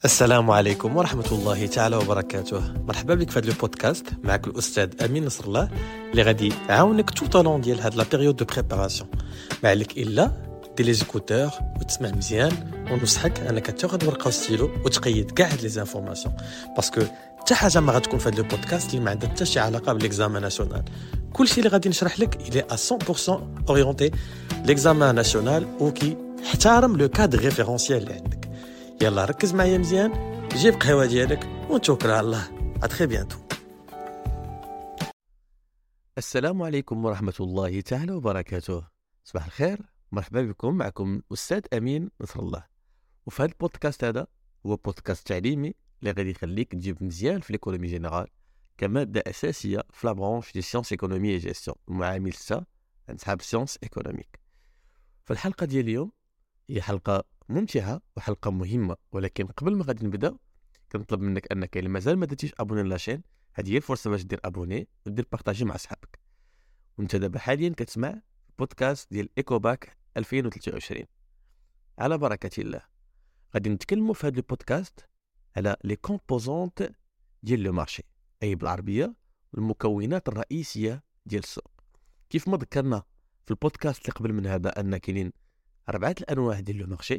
السلام عليكم ورحمة الله تعالى وبركاته. مرحبا بك في هذا البودكاست. معك الأستاذ أمين نصر الله اللي غادي يعاونك tout au long ديال هاد لا بيريود دو بريباراسيون. ما عليك إلا دير لي زيكوتور وتسمع مزيان، ونصحك أنك تاخذ ورقة وستيلو وتقيد كاع هاد لي زانفورماسيون، باسكو حتى حاجة ما غتكون في هاد البودكاست اللي ما عندها حتى شي علاقة بالإكزامان ناسيونال. كلشي اللي غادي نشرح لك إلي à 100% أورينتي لإكزامان ناسيونال وكي احترم لو كادر ريفيرونسيال اللي عندك. يلا ركز معايا مزيان، جيب قهوة ديالك ونتوكل على الله. اتري بيانتو. السلام عليكم ورحمة الله تعالى وبركاته. صباح الخير، مرحبا بكم. معكم أستاذ أمين نصر الله، وفي هذا البودكاست هذا هو بودكاست تعليمي اللي غادي يخليك تجيب مزيان في ليكونومي جينيرال كمادة أساسية في لابرونش دي سيونس ايكونومي اي جيستيون، المعامل سا نسحب سيونس ايكونوميك. في الحلقة ديال اليوم هي حلقة ممتعة وحلقة مهمة، ولكن قبل ما غادي نبدا كنطلب منك انك الا مازال ما درتيش ابوني لاشين، هذه هي الفرصة باش دير ابوني ودير بارطاجي مع صحابك. وانت دابا حاليا كتسمع بودكاست ديال ايكوباك 2023. على بركة الله غادي نتكلموا في هذا البودكاست على لي كومبوزونت ديال لو مارشي، اي بالعربية المكونات الرئيسية ديال السوق. كيف ما ذكرنا في البودكاست اللي قبل من هذا ان كاينين 4 الانواع ديال لو مارشي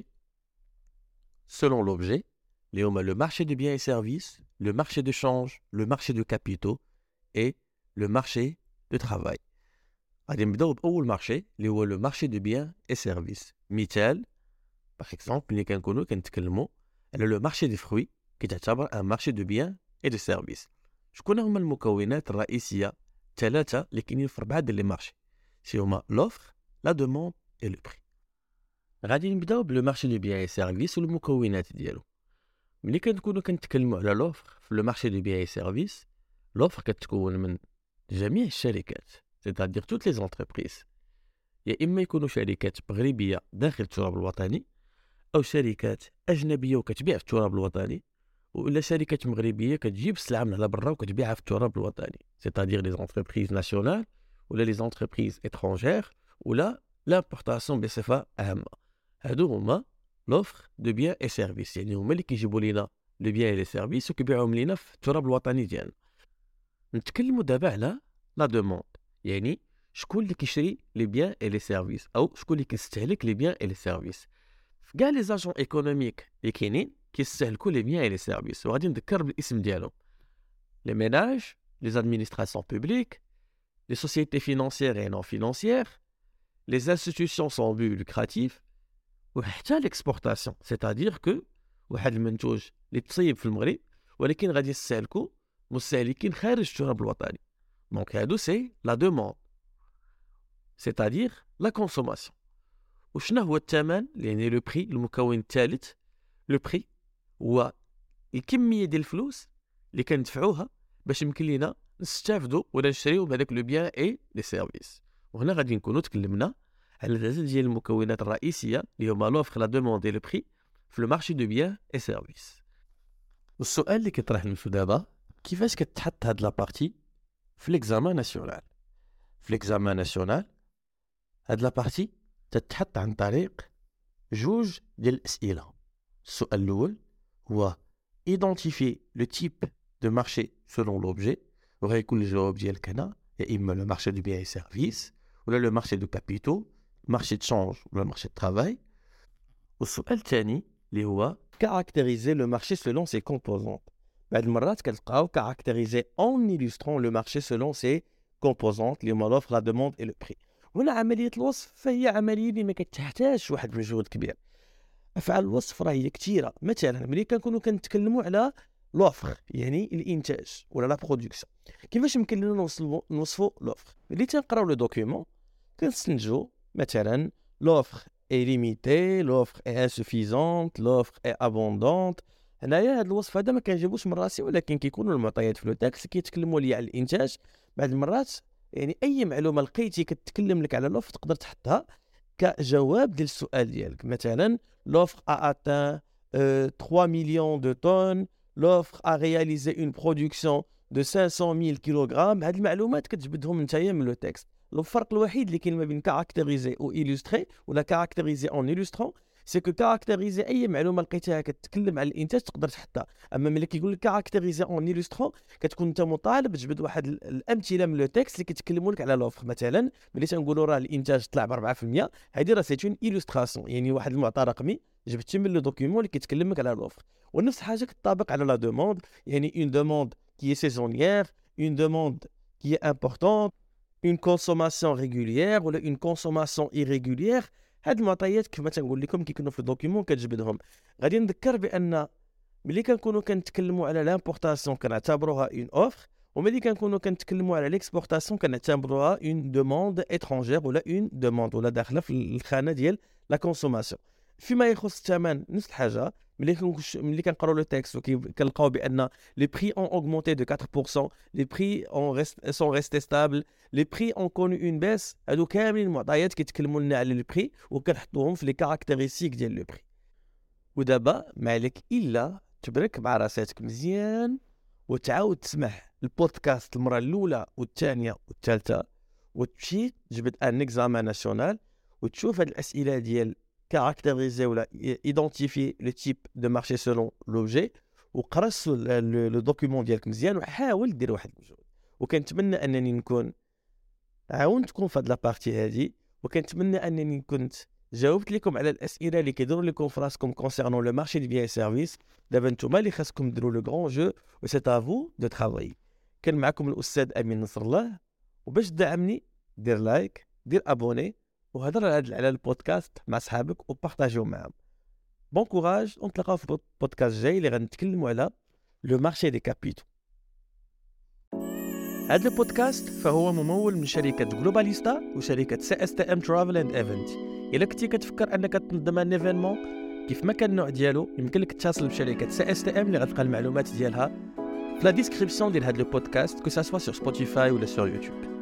selon l'objet, اللي هما le marché de biens et services, le marché de change, le marché de capitaux et le marché de travail. غادي نبداو بأول مارشي اللي هو le marché de biens et services. مثال par exemple اللي كنكونوا كنتكلموا على le marché des fruits كتعتبر un marché de biens et de services. شكون هما المكونات الرئيسية ثلاثة اللي كاينين في 4 ديال لي مارشي؟ سي هما l'offre, la demande et le prix. غادي نبداو بلو مارشي دو بيان اي سيرفيس والمكونات ديالو. ملي كنكونوا كنتكلموا على لوفر في لو مارشي دو بيان اي سيرفيس، لوفر كتكون من جميع الشركات، c'est-à-dire toutes les entreprises، يا اما يكونوا شركات مغربيه داخل التراب الوطني او شركات اجنبيه وكتبيع في التراب الوطني، ولا شركات مغربيه كتجيب السلعه من على برا وكتبيعها في التراب الوطني، c'est-à-dire les entreprises nationales ولا les entreprises étrangères ولا l'importation بصفه عامه. هادو هما لوفر دو بيان اي سيرفيس، يعني هما اللي كيجيبوا لينا لو بيان اي لي سيرفيس وكيبيعوهم لينا في التراب الوطني ديالنا. نتكلموا دابا على لا دوموند، يعني شكون اللي كيشري لي بيان اي لي سيرفيس او شكون اللي كيستهلك لي بيان اي لي سيرفيس. في كاع لي زاجون ايكونوميك اللي كاينين كيستهلكوا لي بيان اي لي سيرفيس، وغادي نذكر بالاسم ديالهم: لي ميناج، لي زادمينستراسيون بوبليك، لي سوسيتي فينانسيير اي نون فينانسيير، لي انستيتيوشن سون بو لوكراتيف، وحتى ليكسبورتاسيون، سيتادير كو واحد المنتوج اللي تصيب في المغرب ولكن غادي يستهلكو مستهلكين خارج التراب الوطني. دونك هادو سي لا دوموند، سيتادير لا كونسوماسيون. وشنو هو الثمن؟ يعني لو بري، المكون الثالث. لو بري هو الكميه ديال الفلوس اللي كندفعوها باش يمكن لينا نستافدوا ولا نشريو بهذاك لو بيان اي لي سيرفيس. وهنا غادي نكونوا تكلمنا على 3 ديال المكونات الرئيسيه اللي هما لوفر، لا دوموند اي لو بري في لو مارشي دو بيان اي سيرفيس. والسؤال اللي كيطرح نفسو دابا: كيفاش كتحط هاد لابارتي في ليكزامان ناسيونال؟ في ليكزامان ناسيونال هاد لابارتي تتحط عن طريق جوج ديال الاسئله. السؤال الاول هو ايدونتيفي لو تيب دو مارشي سولون لوبجي، وغيكون الجواب ديالك هنا يا اما لو مارشي دو بيان اي سيرفيس ولا لو مارشي دو كابيتو، marché de change ou le marché de travail. والسؤال الثاني اللي هو caractériser le marché selon ses composantes. بعد المرات كتلقاو caractériser en illustrant le marché selon ses composantes اللي هما l'offre, la demande et le prix. هنا عملية الوصف فهي عملية اللي ما كتحتاجش واحد المجهود كبير. أفعال الوصف راه هي كثيرة. مثلا ملي كنكونوا كنتكلموا على لوفر يعني الانتاج ولا لا برودكسيون، كيفاش يمكن لنا نوصفوا لوفر؟ ملي تنقراو لو دوكيومون كنستنتجوا مثلا l'offre est limitée, l'offre est insuffisante, l'offre est abondante. هنايا هذا الوصف هذا ما كنجيبوش من راسي، ولكن كيكونوا المعطيات في لو تاكس كيتكلموا لي على الانتاج. بعض المرات يعني اي معلومه لقيتي كتكلم لك على l'offre تقدر تحطها كجواب ديال السؤال ديالك. مثلا l'offre a atteint 3 millions de tonnes, l'offre a réalisé une production de 500 000 كيلوغرام. هاد المعلومات كتجبدهم نتايا من لو تاكس. الفرق الوحيد اللي كاين ما بين كاركتيريزي او إلوستري ولا كاركتيريزي اون إلوسترون سي كو كاركتيريزي اي معلومه لقيتيها كتكلم على الانتاج تقدر تحطها. اما ملي كيقول لك كاركتيريزي اون إيلوسترون كتكون انت مطالب تجبد واحد الامثله من لو تيكست اللي كيتكلموا لك على لوفر. مثلا ملي تنقولوا راه الانتاج طلع ب 4%، هذه راه سي اون إيلوستراسيون، يعني واحد المعطى رقمي جبتي من لو دوكيومون اللي كيتكلم لك على لوفر. ونفس الحاجه كتطابق على لا دوموند، يعني اون دوموند كي سيزونيير، اون دوموند كي امبورطونت، اون كونسوماسيون ريغوليير ولا اون كونسوماسيون ايريغوليير. هاد المعطيات كيف ما تنقول لكم كيكونوا في الدوكيومون كتجبدهم. غادي نذكر بان ملي كنكونوا كنتكلموا على لامبورطاسيون كنعتبروها اون اوفر، وملي كنكونوا كنتكلموا على ليكسبورطاسيون كنعتبروها اون دوموند اترونجير ولا اون دوموند ولا داخله في الخانه ديال لا كونسوماسيون. فيما يخص الثمن نفس الحاجه. ملي كنقراو لو تيكست وكنلقاو بان لي بري اون اوغمونتي دو 4%، لي بري سون ريستي ستابل، لي بري اون كونو اون بيس، هادو كاملين معطيات كيتكلموا لنا على لي بري وكنحطوهم في لي كاركتيرستيك ديال لو بري. ودابا ما عليك الا تبرك مع راساتك مزيان وتعاود تسمع البودكاست المره الاولى والثانيه والثالثه، وتمشي تجبد ان اكزامان ناسيونال وتشوف هاد الاسئله ديال كاركتيريزي ولا ايدونتيفي لو تيب دو مارشي سولون لوبجي، وقرا لو دوكيومون ديالك مزيان وحاول دير واحد المجهود. وكنتمنى انني نكون عاونتكم في هاد لابارتي هادي، وكنتمنى انني كنت جاوبت لكم على الاسئله اللي كيديروا لكم في راسكم كونسيرنون لو مارشي دي بيان سيرفيس. دابا نتوما اللي خاصكم ديروا لو غران جو و سي افو دو ترافاي. كان معكم الاستاذ امين نصر الله، وباش تدعمني دير لايك، دير ابوني، وهضر على البودكاست مع صحابك وبارطاجيو معهم. بون كوراج، ونتلاقاو في بودكاست جاي اللي غنتكلموا على لو مارشي دي كابيتو. هذا البودكاست فهو ممول من شركة جلوباليستا وشركة CSTM Travel and Event. إلا كنتي كتفكر أنك تنظم ان ايفينمون كيف ما كان النوع ديالو، يمكن لك تتصل بشركة CSTM اللي غتلقى المعلومات ديالها في لا ديسكريبسيون ديال هذا البودكاست، كو سا سوا سور سبوتيفاي ولا سور يوتيوب.